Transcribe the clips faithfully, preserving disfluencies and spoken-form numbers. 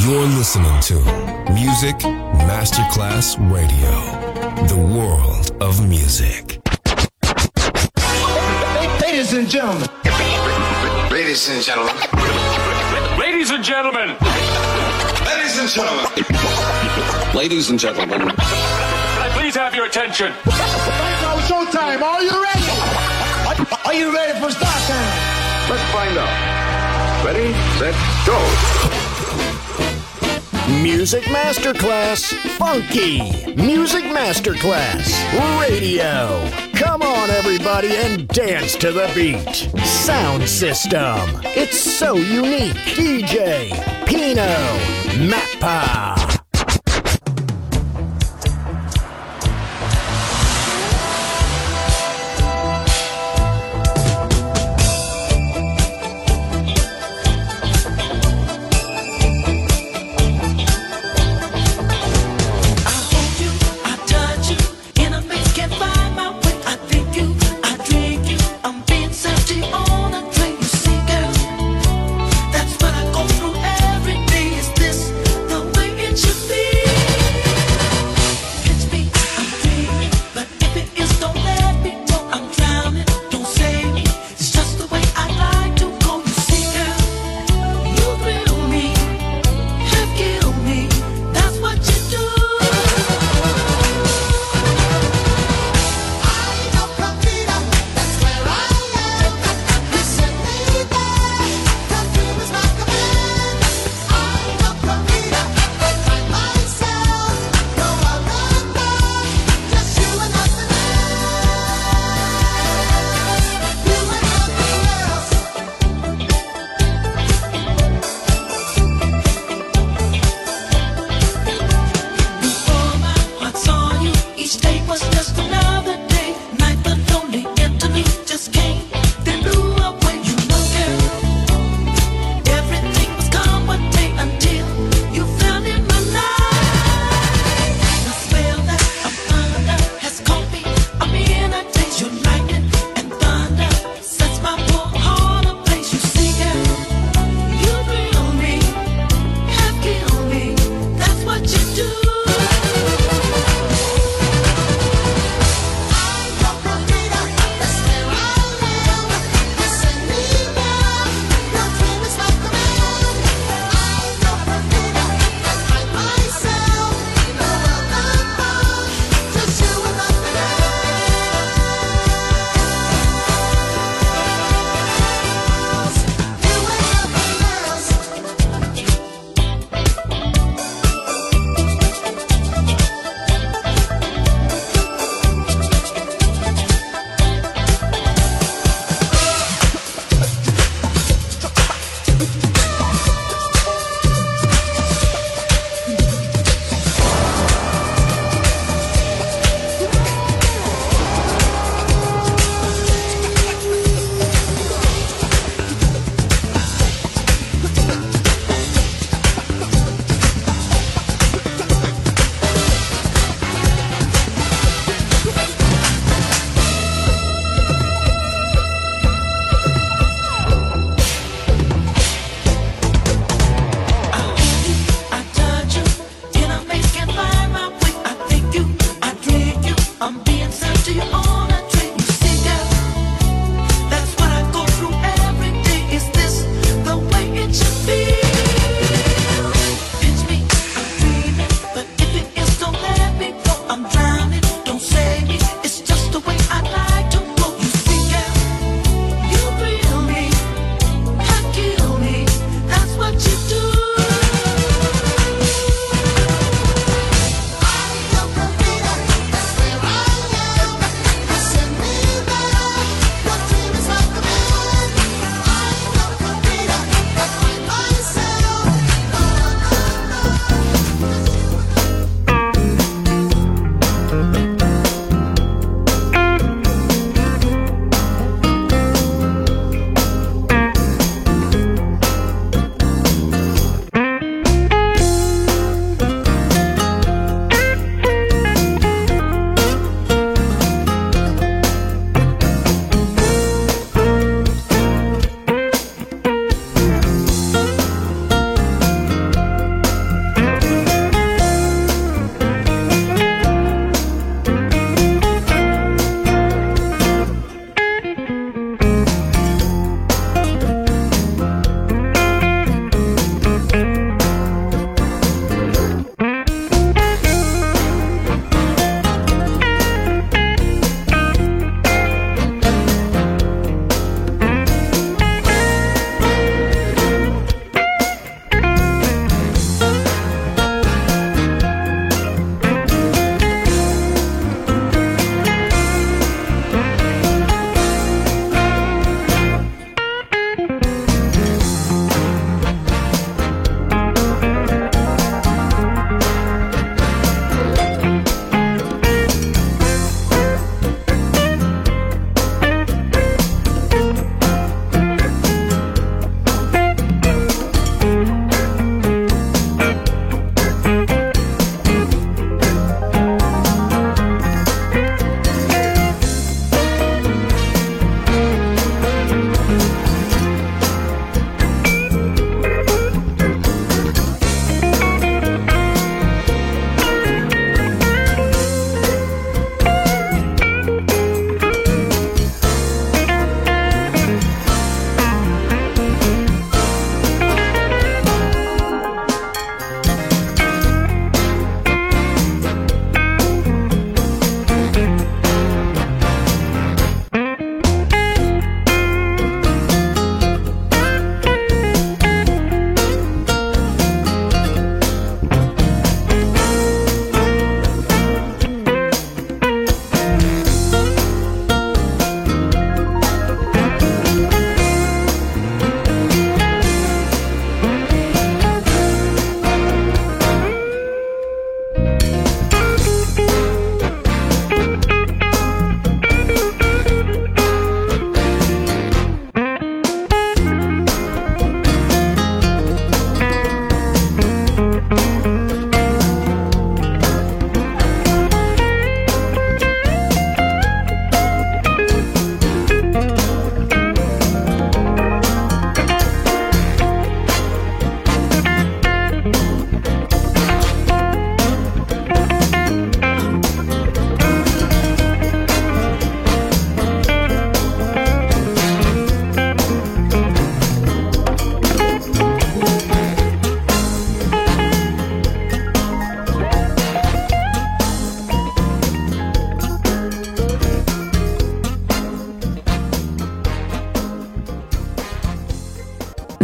You're listening to Music Masterclass Radio, the world of music. Ladies and gentlemen. Ladies and gentlemen. Ladies and gentlemen. Ladies and gentlemen. Ladies and gentlemen. Can I please have your attention? Right now, showtime. Are you ready? Are, are you ready for start time? Let's find out. Ready, set, go. Music Masterclass Funky. Music Masterclass Radio. Come on, everybody, and dance to the beat. Sound system. It's so unique. D J Pino Mappa. That's what I go through every day. Is this the way it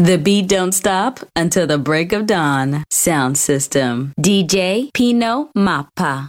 The beat don't stop until the break of dawn. Sound system. D J Pino Mappa.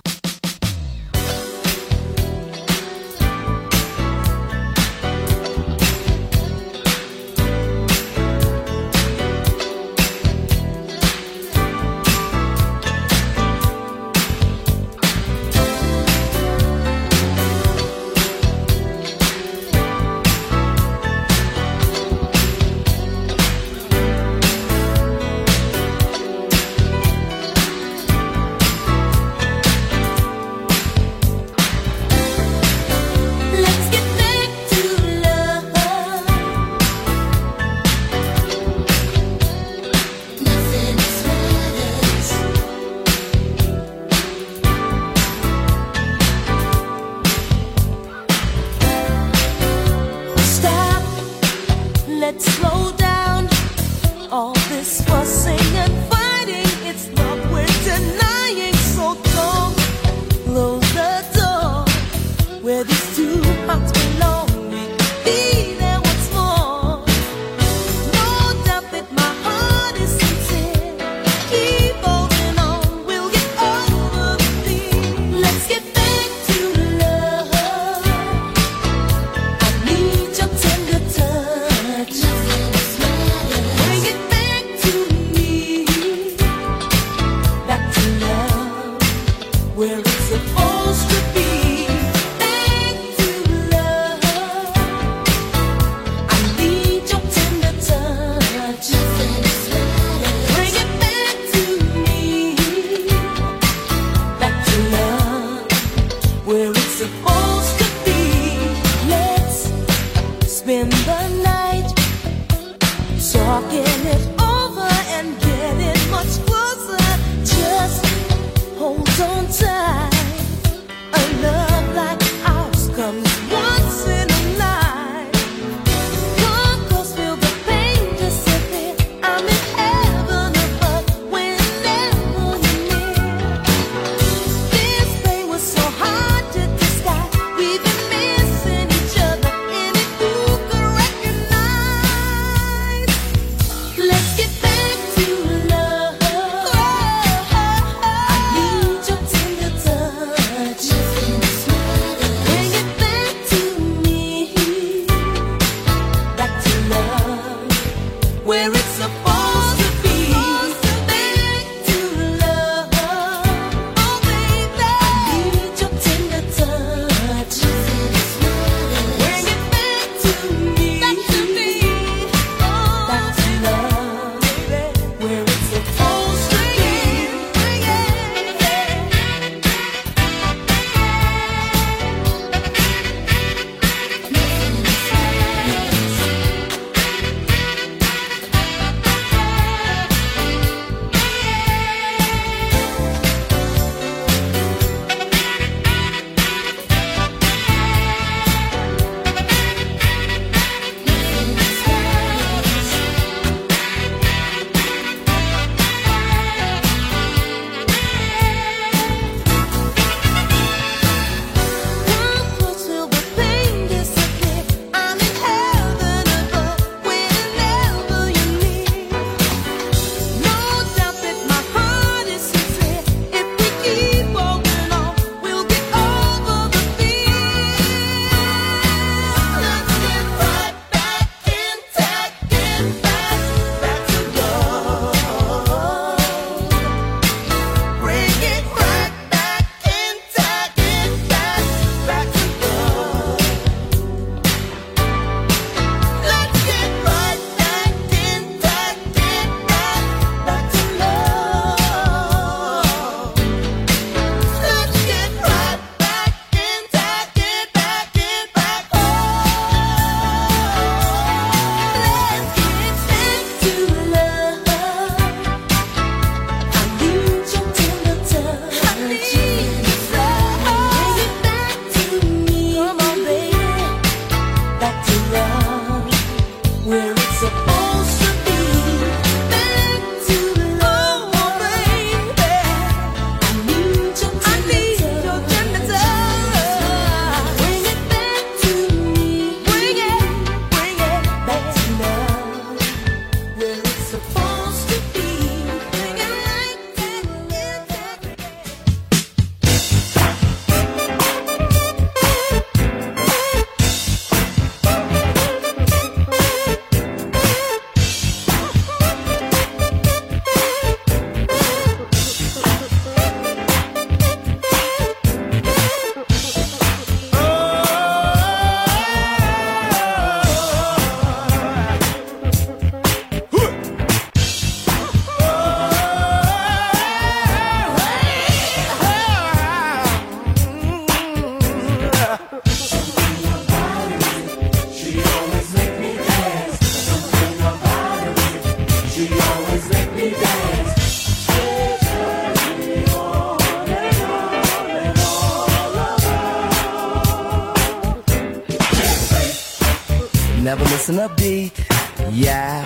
never missing a beat. Yeah.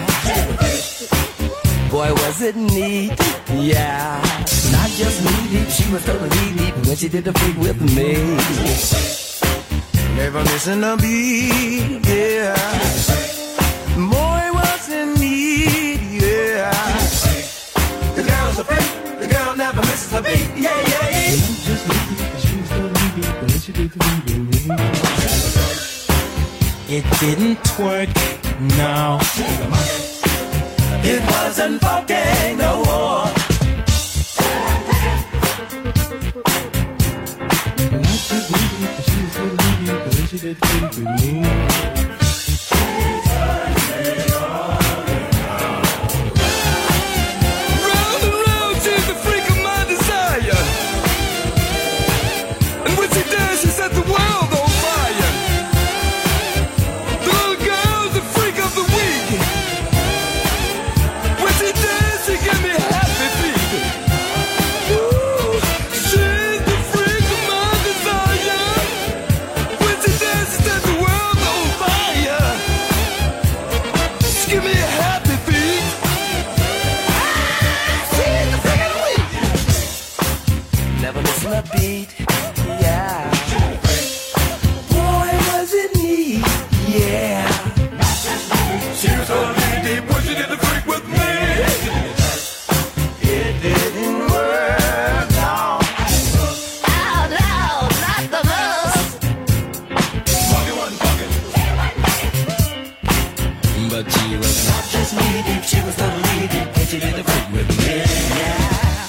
Boy, was it neat. Yeah. Not just knee deep, she was totally deep when she did the freak with me. Never missing a beat. Yeah. Boy, was it neat. Yeah. The girl's a freak. The girl never misses a beat. Yeah, yeah, yeah. Not just knee deep, she was totally deep when she did the freak with me. It didn't twerk, no. It wasn't funky no more. And I just needed it, she was so needy, but then she did things with me. Round and round, she's the freak of my desire. And when she does, she set the world on fire. The little girl's the freak of the week. When she does, she give me happy feet. Ooh, she's the freak of my desire. When she does, she set the world on fire. She give me happy feet. Ah, she's the freak of the week. Never missing a beat, yeah. Boy, was it neat, yeah. She was totally deep when she did the freak with me. It didn't work, no. Oh, no, not the most. Funky wasn't funky. But she was not just knee deep, she was totally deep when she did the freak with me, yeah.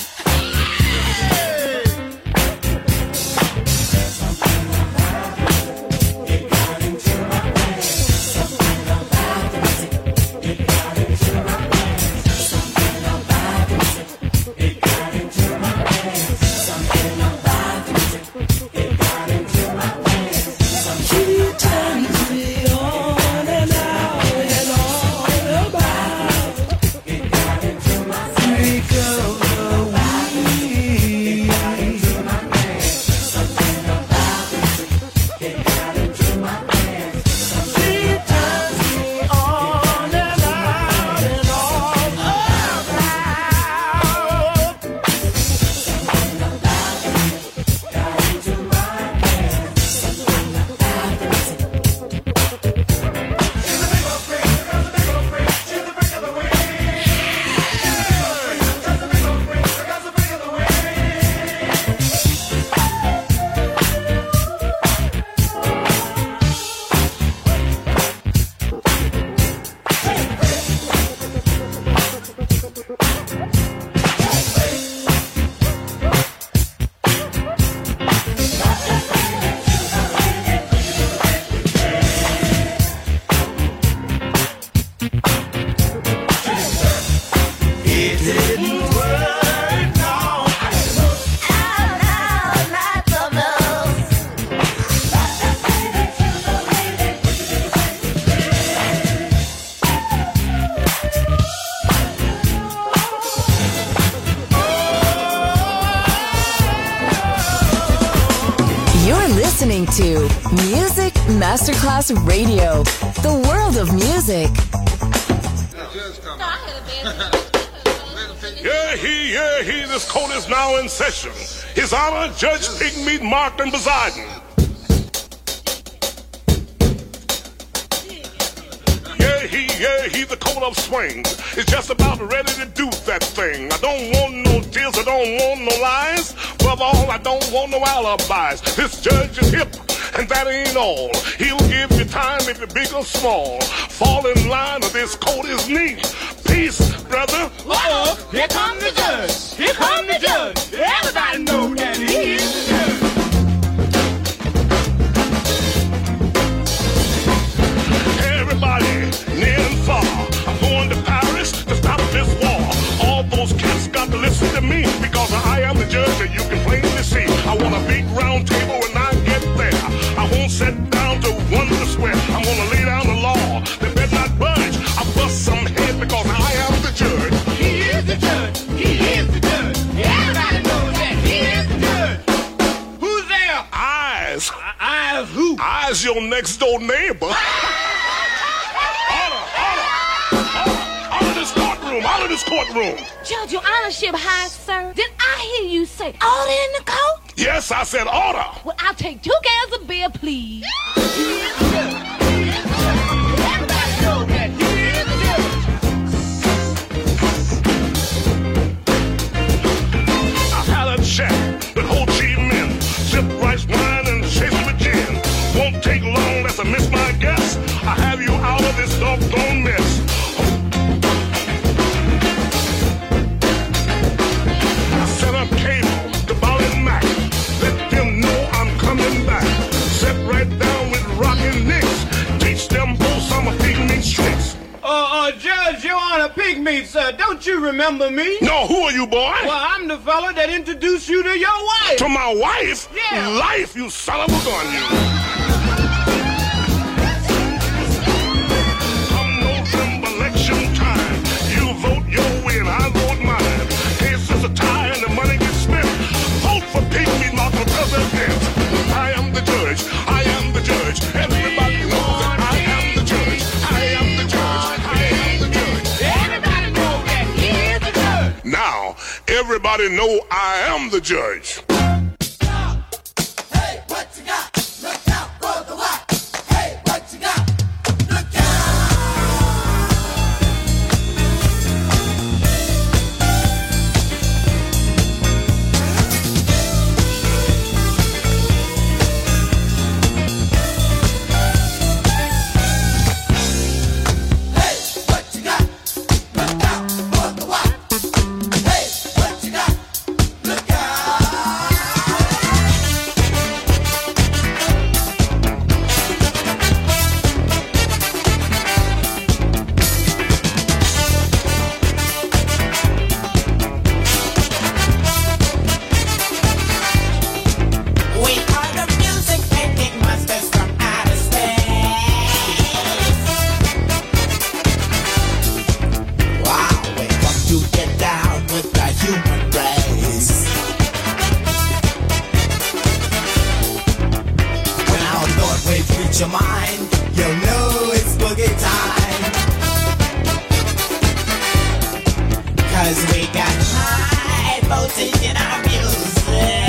Listening to Music Masterclass Radio, the world of music. Yeah, he, yeah, he, this court is now in session. His Honor, Judge Pigmeat Martin Poseidon. Yeah, he, yeah, he, the coat of swings is just about ready to do that thing. I don't want no tears, I don't want no lies. Above all, I don't want no alibis. This judge is hip, and that ain't all. He'll give you time if you're big or small. Fall in line or this coat is neat. Peace, brother. Uh-oh, here come the judge. Here come the judge. Everybody know that he is the judge. Everybody, near and far, I'm going to Paris to stop this war. All those cats got to listen to me, because I am the judge and you can plainly see. I want a big round table when I get there. I won't sit down to wonder swear. I'm gonna lay down the law. They better not budge. I bust some head because I am the judge. He is the judge. He is the judge. Everybody knows that he is the judge. Who's there? Eyes. Eyes who? Eyes your next door neighbor. courtroom, out of this courtroom. Judge, your honorship high, sir. Did I hear you say order in the court? Yes, I said order. Well, I'll take two cans of beer, please. Chat with Ho Chi Minh, sip rice wine and chase it with gin. Won't take long, that's a miss my guess. I have you out of this doggone mess. I set up cable to Ball and Mac. Let them know I'm coming back. Sit right down with Rockin' Nicks. Teach them both some of Pygmeat tricks. Uh, uh, Judge, Your Honor, Pygmeat, sir. Don't you remember me? No, who are you, boy? Well, I'm the fella that introduced you to your wife. To my wife? Yeah. Life, you son of a gun, you. Come November election time. You vote your way and I vote mine. Case is a tie and the money gets spent. Vote for Pygmeat Moth for president. I am the judge. I am the judge. Everybody knows that I am the judge. I am the judge. I am the judge. Everybody knows that he is the judge. Now, everybody know I am the judge. Hey, what you got? Look out for the what? Hey, what you got? Look out! Hey, what you got? Look out for the what? Hey, what you got? Look out! We are the music making monsters from outer space. Wow, we come to get down with the human race. When our thought waves reach your mind, you'll know it's boogie time. Cause we got high voltage in our music.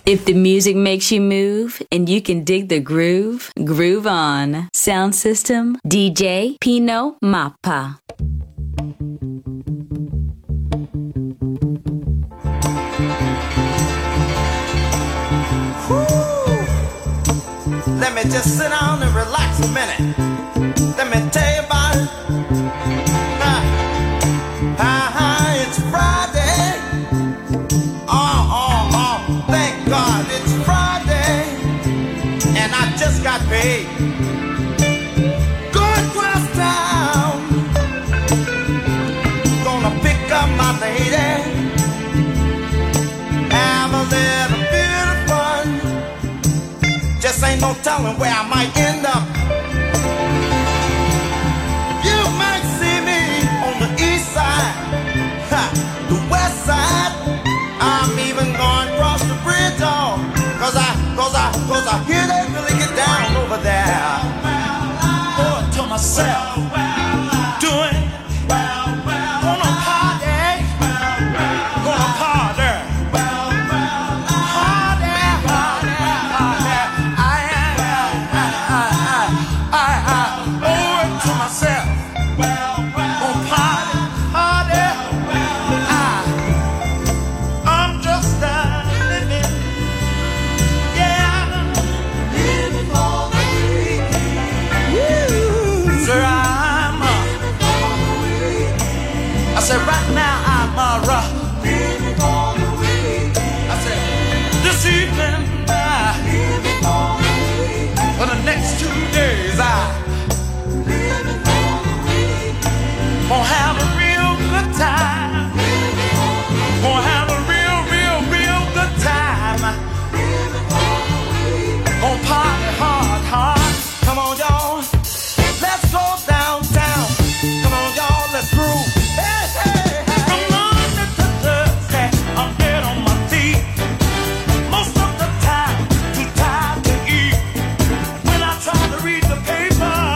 If the music makes you move and you can dig the groove, groove on. Sound system, D J Pino Mappa. Let me just sit down and relax a minute. Let me tell you about it. Ah, ah, ah, it's Friday. Oh, oh, oh, thank God it's Friday. And I just got paid. Going across town. Gonna pick up my lady. Have a little bit of fun. Just ain't no telling where I might end up. You might see me on the east side, ha, the west side. I'm even going across the bridge, oh, cause I, cause I, cause I hear they really get down over there. Oh, to myself, doing, gonna party, gonna party. Right now I'm a rough. I said this evening, uh, for the next two days, I gonna have a real good time. Gonna have a real, real, real good time. Gonna party hard, hard. Come on, y'all, let's go downtown. Come on, y'all, let's groove. Most of the time, too tired to eat. When I try to read the paper,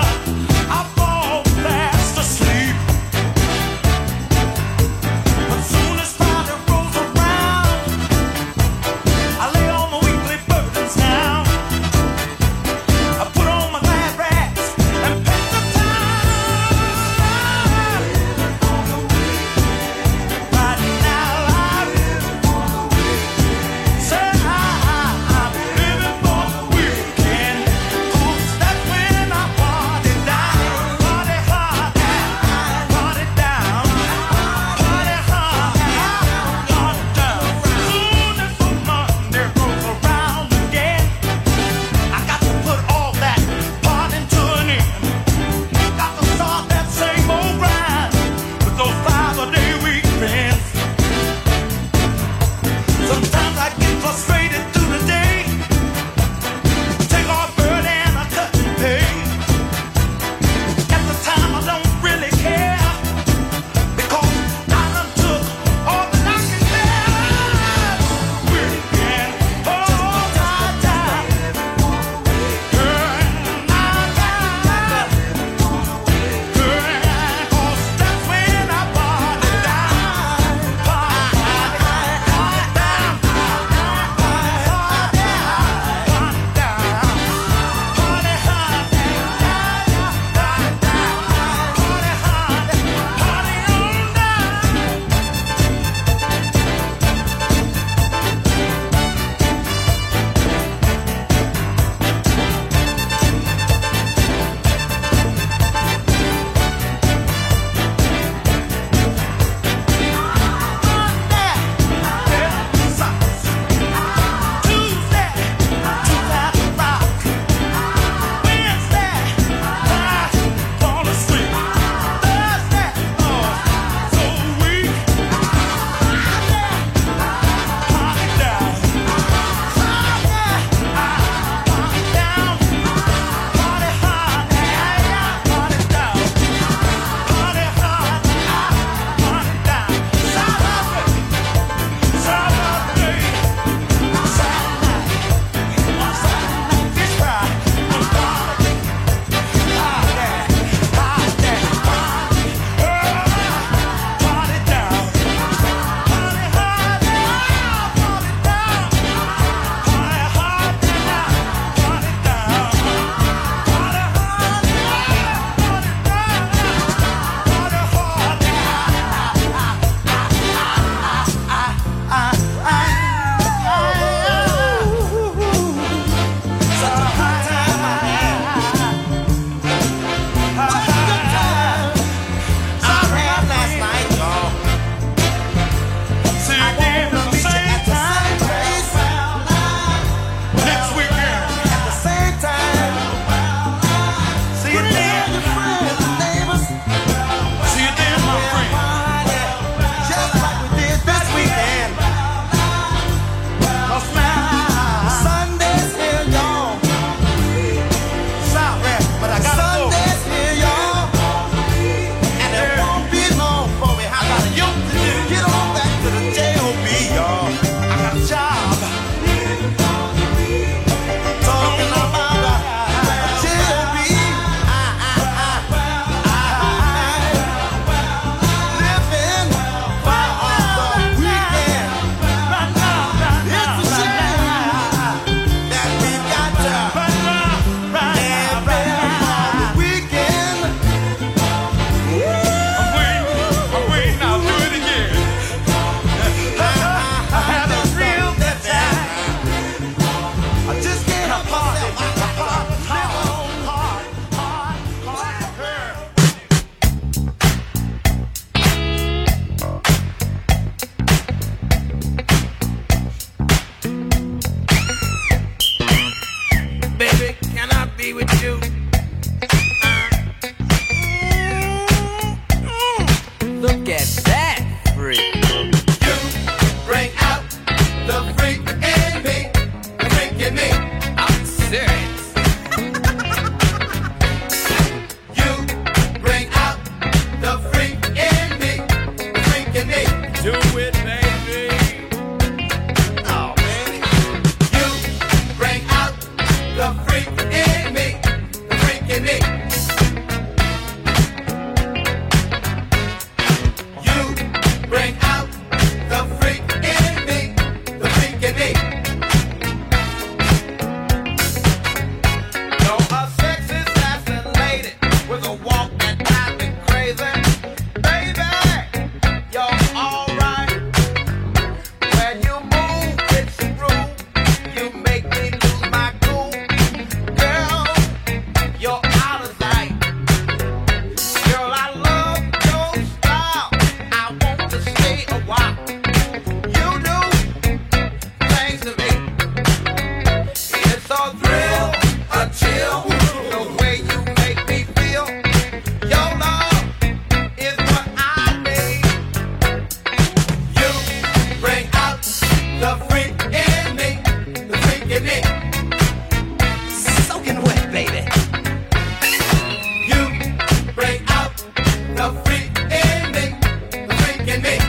do it, baby. Oh, man. You bring out the freak in me, the freak in me. You bring out the freak in me, the freak in me. You're a sexy, sassy lady with a walk that drives me crazy. Baby, you're alright. When you move, it's rude. You make me lose my cool. Girl, you're out of sight. Girl, I love your style. I want to stay a while. You do things to me. It's a thrill, a chill, the way you make me feel. Your love is what I need. You bring out the freak in me, the freak in me. Soaking wet, baby. You bring out the freak in me, the freak in me.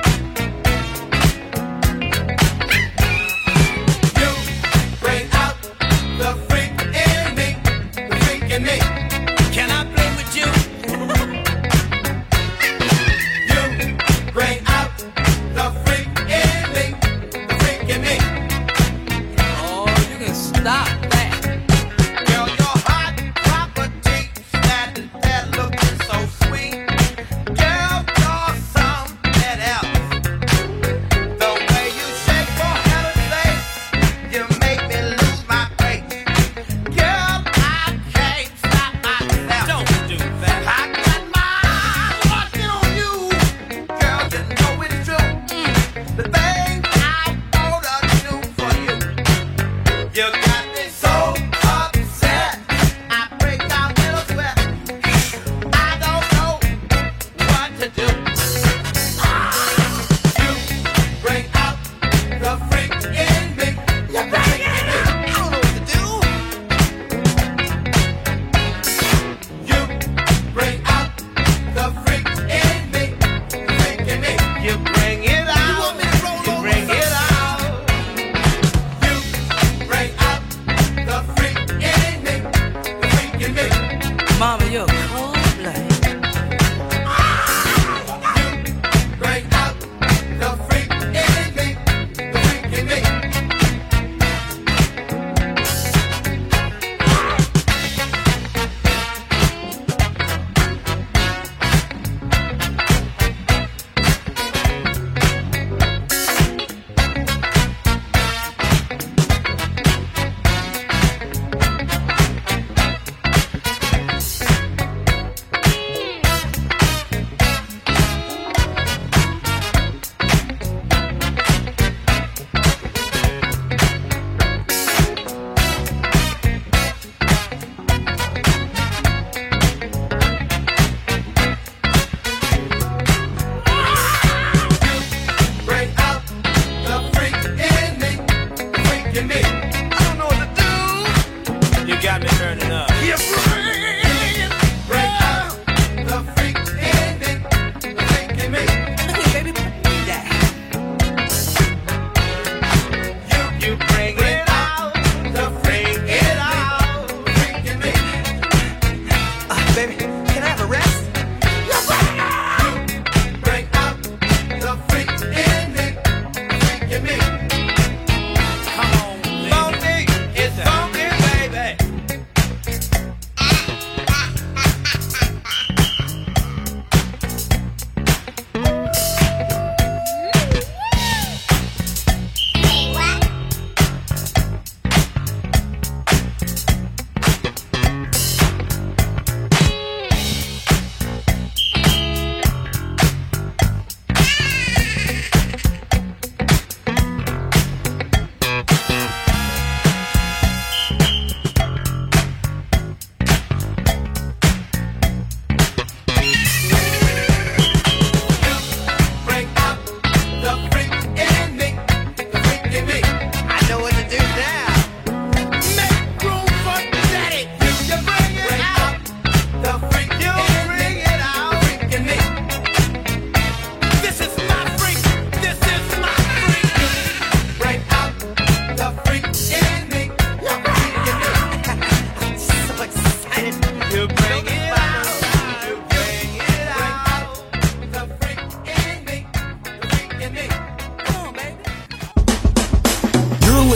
You bring out the freak in me, the freak in me. Can I play with you? You bring out the freak in me, the freak in me. Oh, you can stop that. Girl, your hot property, that that looking so sweet. Girl, you're something else. The way you shake for heaven's sake, you make me lose my faith. Girl, I can't stop myself. Don't do that. I got my eyes watching on you. Girl, you know it's true. The things I wanna do for you. You got me so upset. I break down in a sweat. I don't know what to do. You bring out the freak in me. You bring it out. I don't know what to do. You bring out the freak in me, the freak in me. You bring it out. You want me to roll you bring it out. You bring out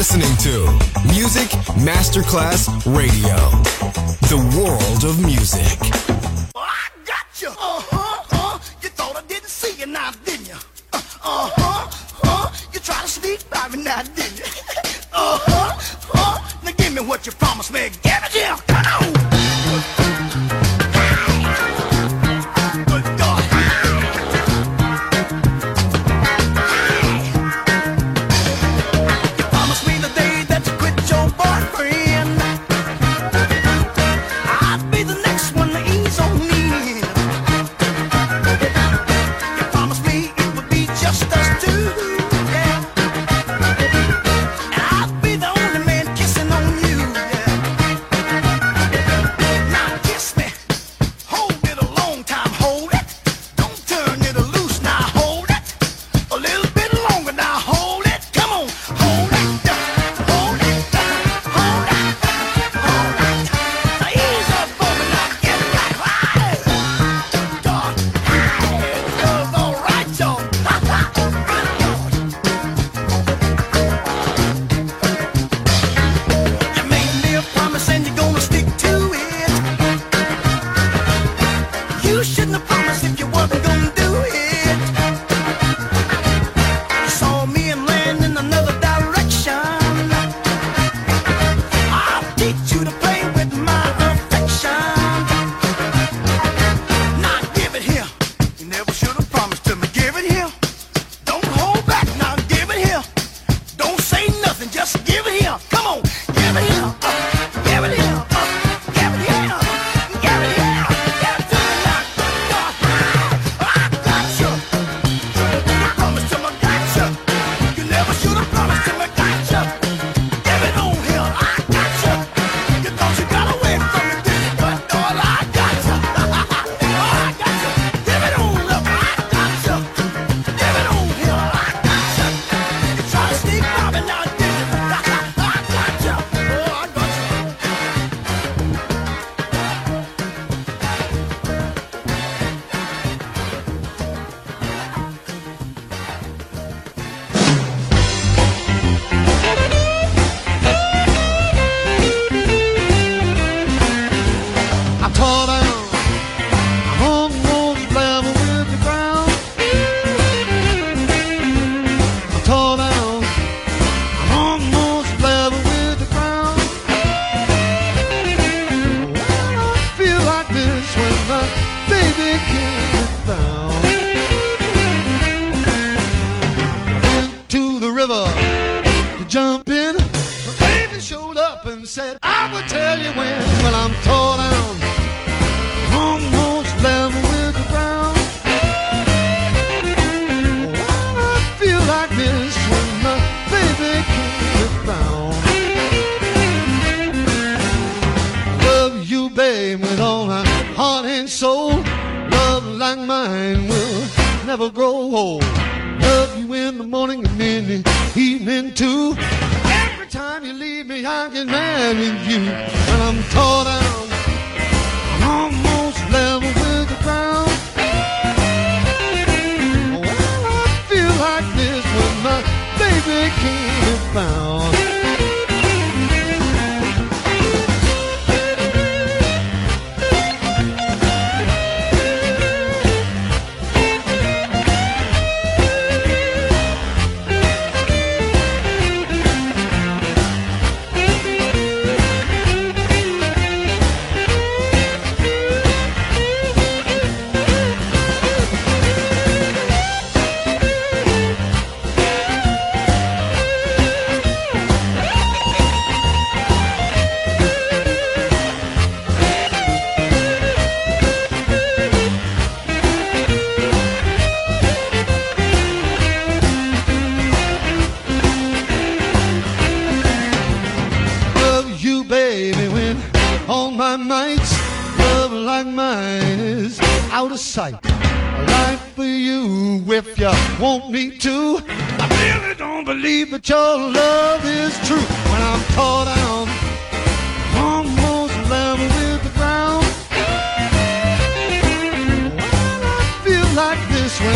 listening to Music Masterclass Radio, the world of music. Oh, I got you. Uh-huh, uh, you thought I didn't see you now, didn't you? Uh, uh-huh, uh, you tried to sneak by me now, didn't you? uh-huh, uh, now give me what you promised me. Give it here, come on.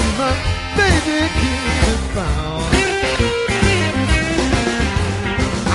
Baby, keep it found.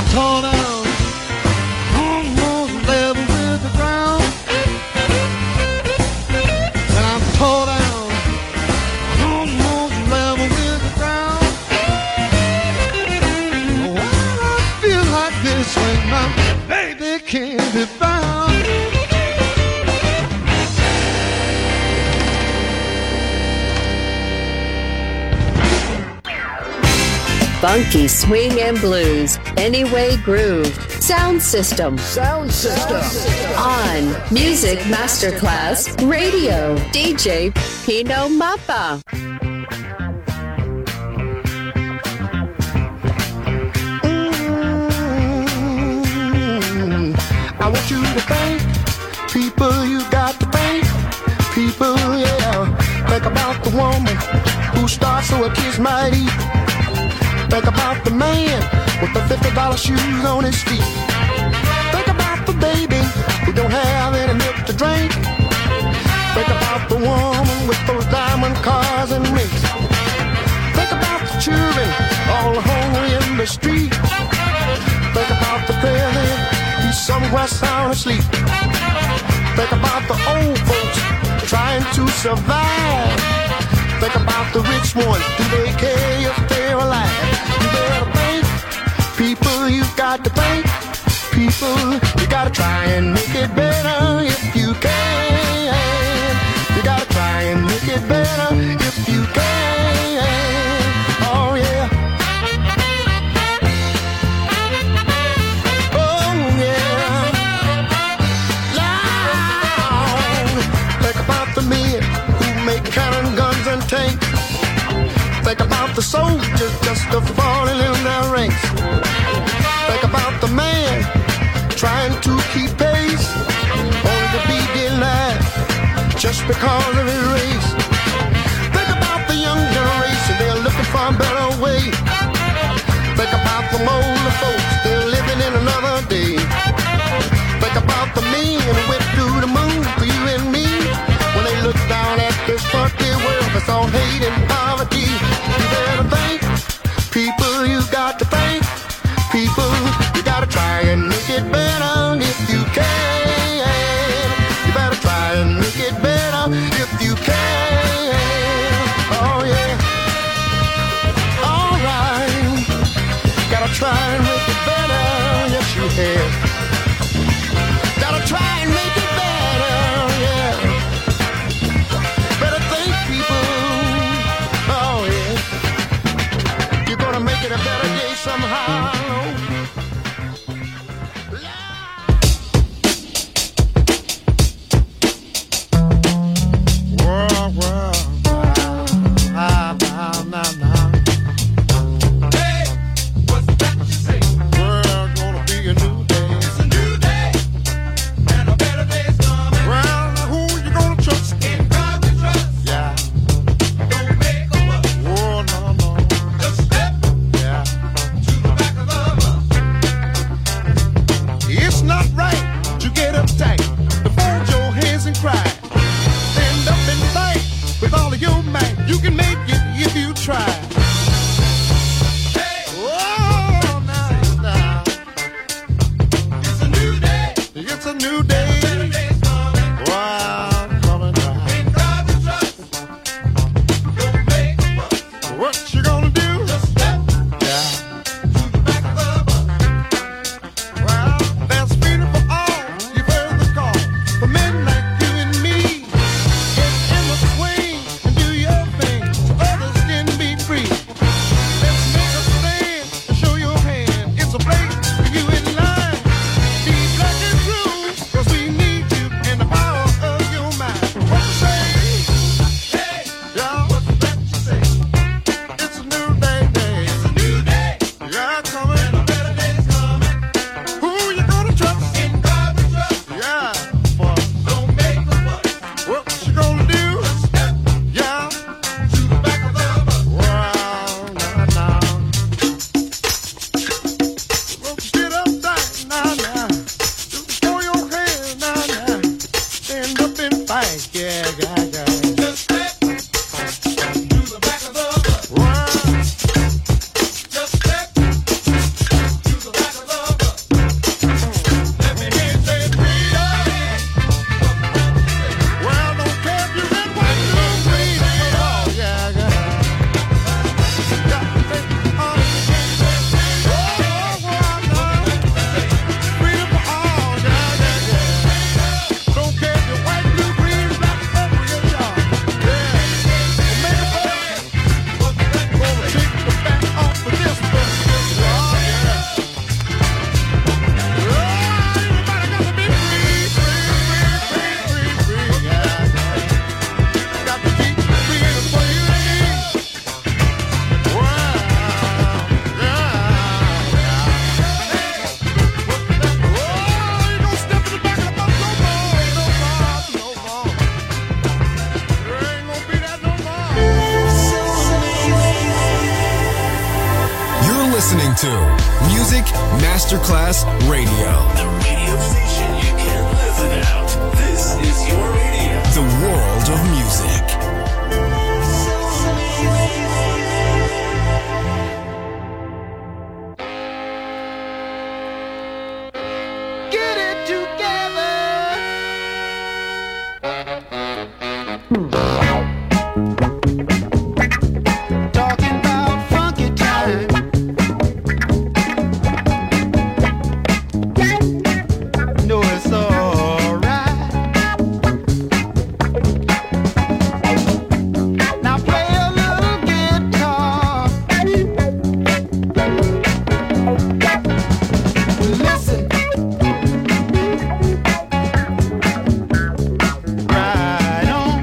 Funky swing and blues, Anyway Groove, Sound System. Sound System. On Music Masterclass Radio, D J Pino Mappa. Mm, I want you to thank people, you got to thank people, yeah. Think about the woman who starts so a kids might eat. Think about the man with the fifty dollar shoes on his feet. Think about the baby who don't have any milk to drink. Think about the woman with those diamond cars and rings. Think about the children all hungry in the street. Think about the president, he's somewhere sound asleep. Think about the old folks trying to survive. Think about the rich ones, do they care if they're alive? You better thank people, you got to thank people. You gotta try and make it better if you can. You gotta try and make it better if you can. Oh yeah. Oh yeah. Lord, think about the men who make cannon, guns and tanks. Think about the soldiers just a falling in their ranks. Think about the man trying to keep pace, only to be denied just because of his race. Think about the young generation, they're looking for a better way. Think about the older folks, they're living in another day. Think about the men who went through the moon for you and me. When they look down at this funky world that's all hate and poverty. You better thank people, you got to thank people. You gotta try and make it better if you can. You better try and make it better if you can. Oh yeah. Alright. Gotta try and make it better. Yes you have. Gotta try and make it better. Yeah. Better thank people. Oh yeah. You're gonna make it a better day somehow. Back of the listening to Music Masterclass Radio. The radio station you can't live without. This is your radio. The world of music. Get it together. Talking about funky time. No, it's alright. Now play a little guitar. Listen. Right on.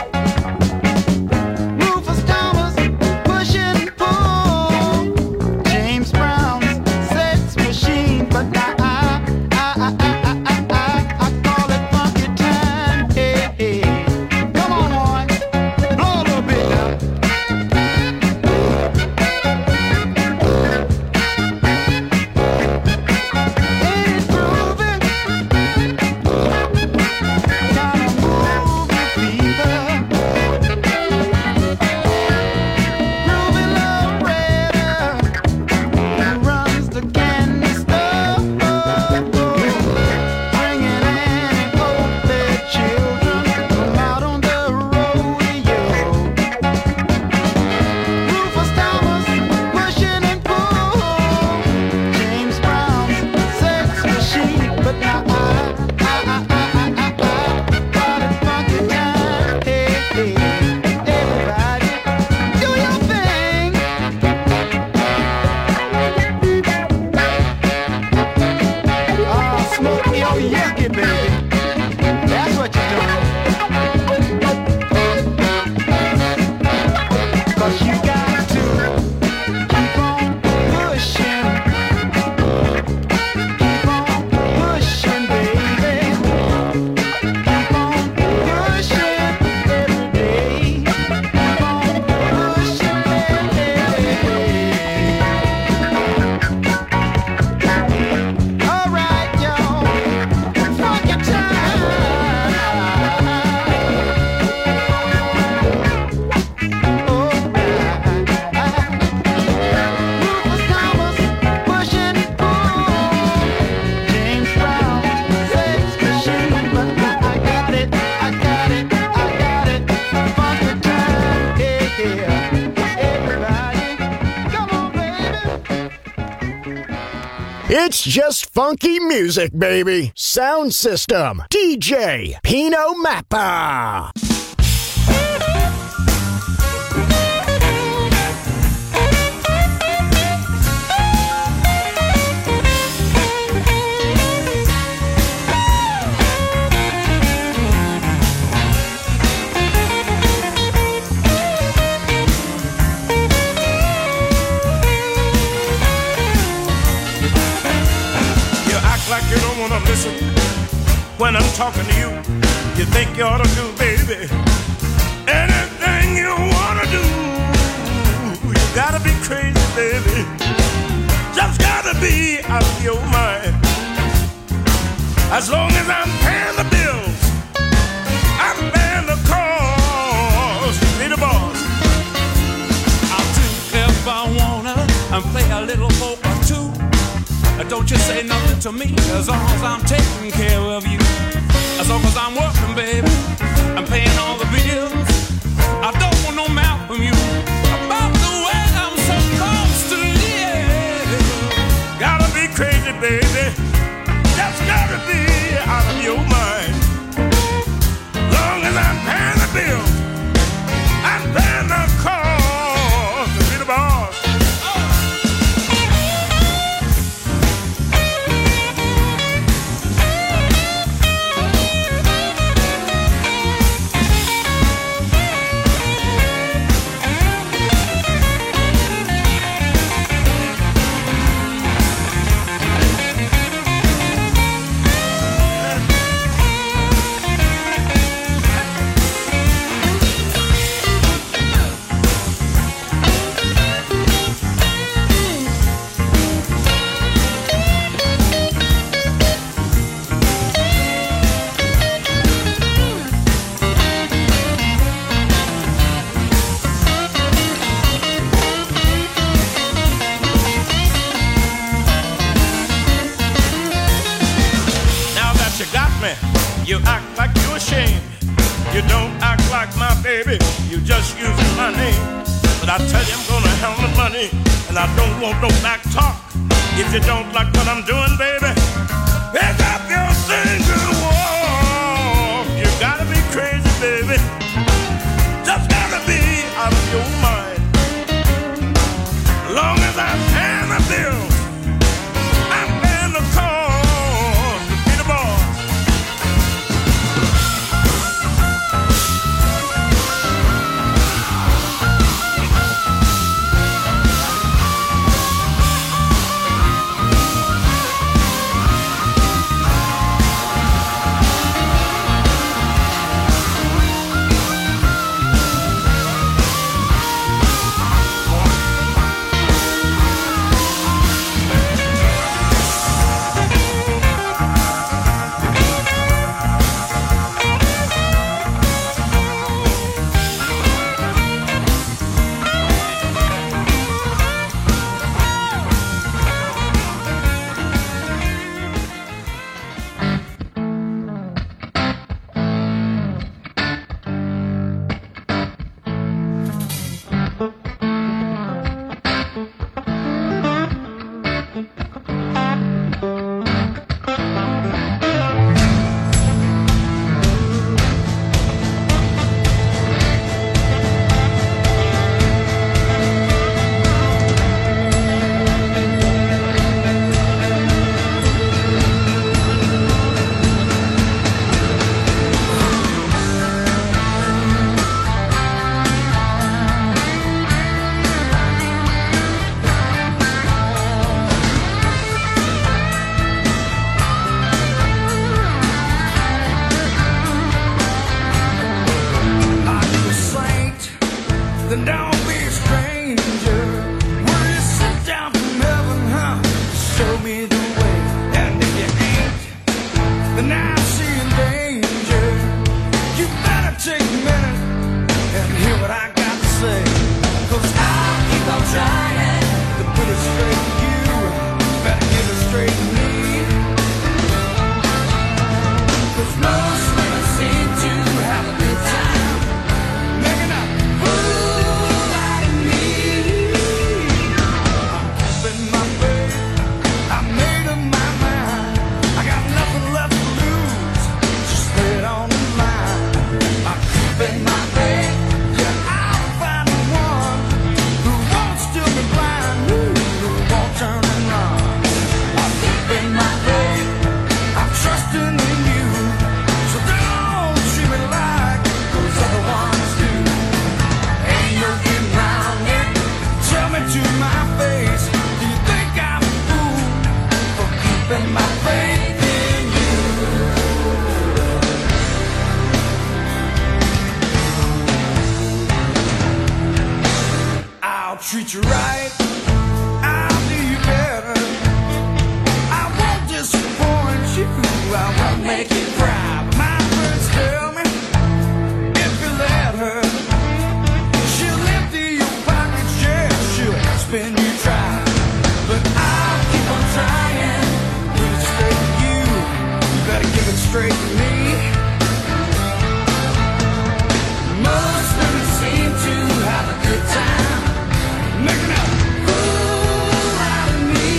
Rufus Thomas, push and pull. James Brown's sex machine, but I, I, I, I, I, I, I, I call it funky time. Hey, hey. Come on, boy, blow a little bit now. Ain't it groovy? Gotta move your fever. Groovy Loretta, who runs the candy store, bringing Annie Hope their children out on the rodeo. Rufus Thomas, pushing and pull. James Brown's sex machine, but now I, I, I, I, I, I, call it funky time. Hey, hey, everybody, do your thing. Ah, smoke your yucky, baby. That's what you're doing. 'Cause you got to keep on pushing. Keep on pushing, baby. Keep on pushing every day. Keep on pushing, baby. All right, y'all. Funky time. Rufus Thomas, pushing and pull. James Brown, sex machine, but I got it, I got it, I got it. Funky time, yeah, yeah. Everybody, come on, baby. It's just funky music, baby. Sound System, D J Pino Mappa. You act like you don't wanna listen when I'm talking to you. You think you ought to do, baby, anything you wanna do. You gotta be crazy, baby. Just gotta be out of your mind. As long as I'm paying the bills, I'm paying the cost. Be the boss. I'll do if I wanna and play a little for or two. Don't you say nothing to me as long as I'm taking care of you. As long as I'm working, baby, I'm paying all the bills. I don't want no mouth from you about the way I'm supposed to live. Gotta be crazy, baby. Just gotta be out of your mind. Long as I'm paying the bill, I'm paying the cost to be the boss. money. But I tell you I'm gonna have the money, and I don't want no back talk. If you don't like what I'm doing, baby, pick up your single walk. You gotta be crazy, baby. Just gotta be out of your mind. As long as I'm paying the bills, I'm paying the cost to be the boss. Treat you right, I'll do you better. I won't disappoint you, I won't make you cry. But my friends tell me, if you let her, she'll empty your pockets, yeah, she'll spin you dry. But I'll keep on trying, put it straight to you, you better give it straight to me. Most women seem to have a good time making a fool out of me.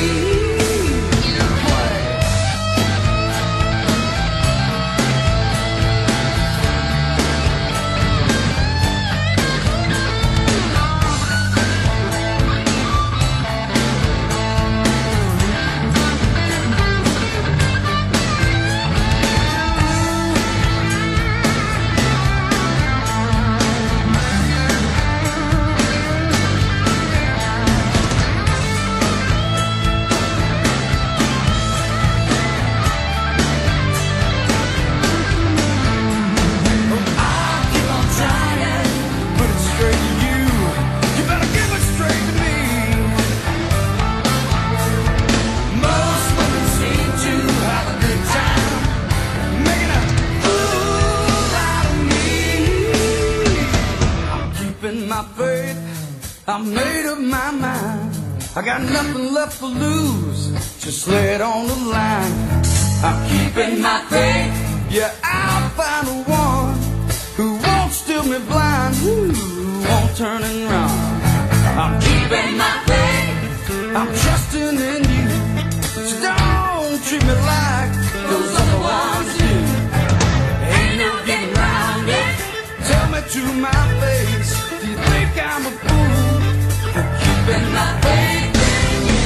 I made up my mind. I got nothing left to lose. Just lay it on the line. I'm keeping my faith. Yeah, I'll find the one who won't steal me blind. Ooh. won't turn and run. I'm keeping my faith, I'm trusting in you. So don't treat me like those other ones do. Ain't no getting round it. Tell me to my face, do you think I'm a fool for keeping my faith in you?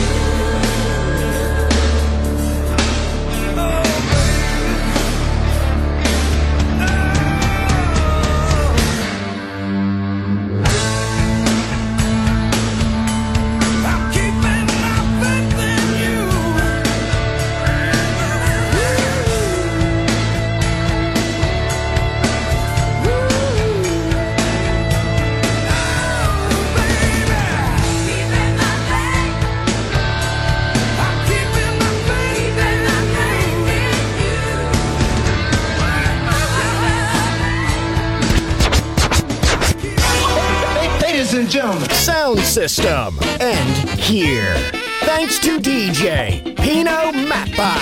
And gentlemen, Sound System, and here. Thanks to D J Pino Mappa.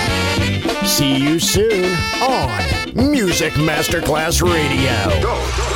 See you soon on Music Masterclass Radio. Go.